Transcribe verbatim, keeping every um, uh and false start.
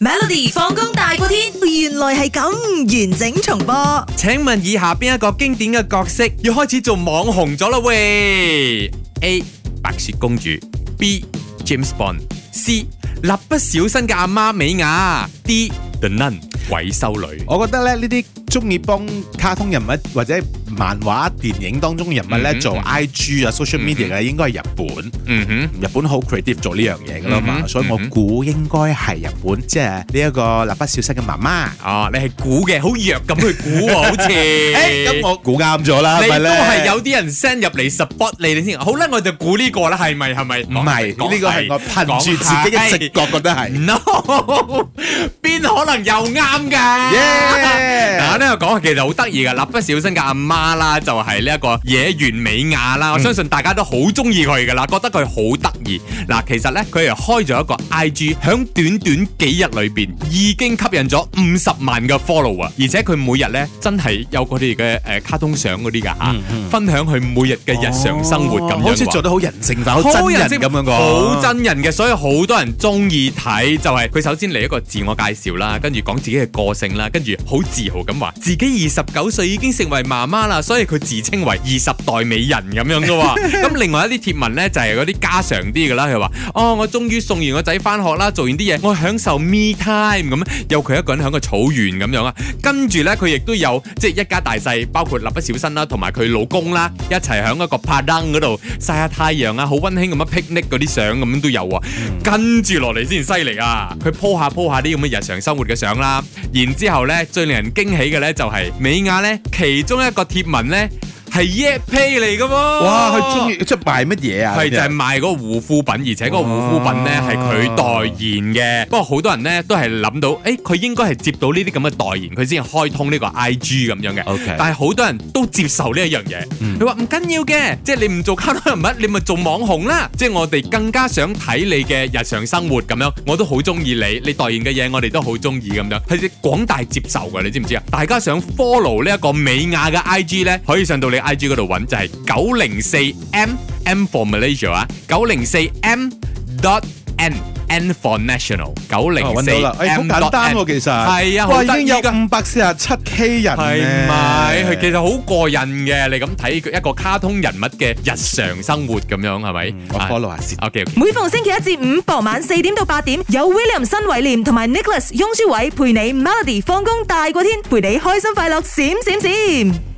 Melody 放工大過天，原來係咁完整重播。 請問以下邊一個經典嘅角色要開始做網紅咗啦喂 ？A. 白雪公主 B. James Bond C. 蠟筆小新嘅阿媽美雅 D. The Nun 鬼修女。 我覺得咧呢啲中意幫卡通人物或者漫畫、電影當中嘅人物咧、嗯、做 I G 啊、social media 嘅、嗯、應該係日本。嗯哼，日本好 creative 做呢樣嘢噶啦嘛，嗯、所以我估應該係日本，即係呢一個蠟筆小新嘅媽媽。哦，你係估嘅，好弱咁去估喎，好似。誒，咁我估啱咗啦，係咪咧？ 你都係有啲人 send 入嚟 support 你哋先。好啦，我就估呢個啦，係咪？係咪？唔係，呢個係我憑住自己嘅直覺覺得係。No， 邊可能又啱㗎？嗱，呢個講其實好得意㗎，蠟筆小新嘅阿媽啦，就係呢一個野原美雅啦。我相信大家都好中意佢㗎啦，覺得佢好得意。嗱，其實咧佢係開咗一個 I G， 響短短幾日裏邊已經吸引咗五十萬嘅 follow 啊！而且佢每日咧真係有佢哋嘅誒卡通相嗰啲㗎嚇，分享佢每日嘅日常生活咁樣，好似做得好人性化，好真人咁樣個，好真人嘅，所以好多人中意睇。就係佢首先嚟一個自我介紹啦，跟住講自己嘅個性啦，跟住好自豪咁話自己二十九歲已經成為媽媽啦，所以佢自稱為二十代美人咁樣嘅喎。咁另外一啲貼文咧就係嗰啲家常啲嘅啦，佢話哦，我終於送完個仔翻學啦，做完啲嘢，我享受 me time 咁，有佢一個人喺個草原咁樣啊。跟住咧佢亦都有即係一家大細，包括蠟筆小新啦，同埋佢老公啦，一齊喺一個帕登嗰度曬下太陽啊，好溫馨咁樣 picnic 嗰啲相咁樣都有啊。嗯、跟住落嚟先犀利啊！佢 po 下 po 下啲咁嘅日常生活嘅相啦，然之後咧最令人驚喜嘅咧就係美雅咧其中一個貼文咧。係 Yapay 嚟噶喎！ 哇，佢中意即係賣乜嘢啊？ 係就係賣嗰個護膚品，而且嗰個護膚品咧係佢代言嘅。不過好多人咧都係諗到，誒佢應該係接到呢啲咁嘅代言，佢先開通呢個 I G 咁樣嘅。Okay. 但係好多人都接受呢一樣嘢。佢話唔緊要嘅，即係你唔做卡通人物，你咪做網紅啦。即係我哋更加想睇你嘅日常生活咁樣，我都好中意你，你代言嘅嘢我哋都好中意咁樣，係廣大接受㗎，你知唔知啊？大家想 follow 呢一個美雅嘅 I G 咧，可以上到你I G 嗰度揾，就係九零四 M M for Malaysia 啊，九零四 M dot N N for National， 九零四 M dot N。好簡單喎，其實係啊，哇，已經有五百四十七 K 人，係咪？佢其實好過癮嘅，你咁睇佢一個卡通人物嘅日常生活咁樣，係咪？我 follow 下先。OK。每逢星期一至五傍晚四點到八點，有 William 新偉廉同埋 Nicholas 雍舒偉陪你 Melody 放工大過天，陪你開心快樂閃閃閃。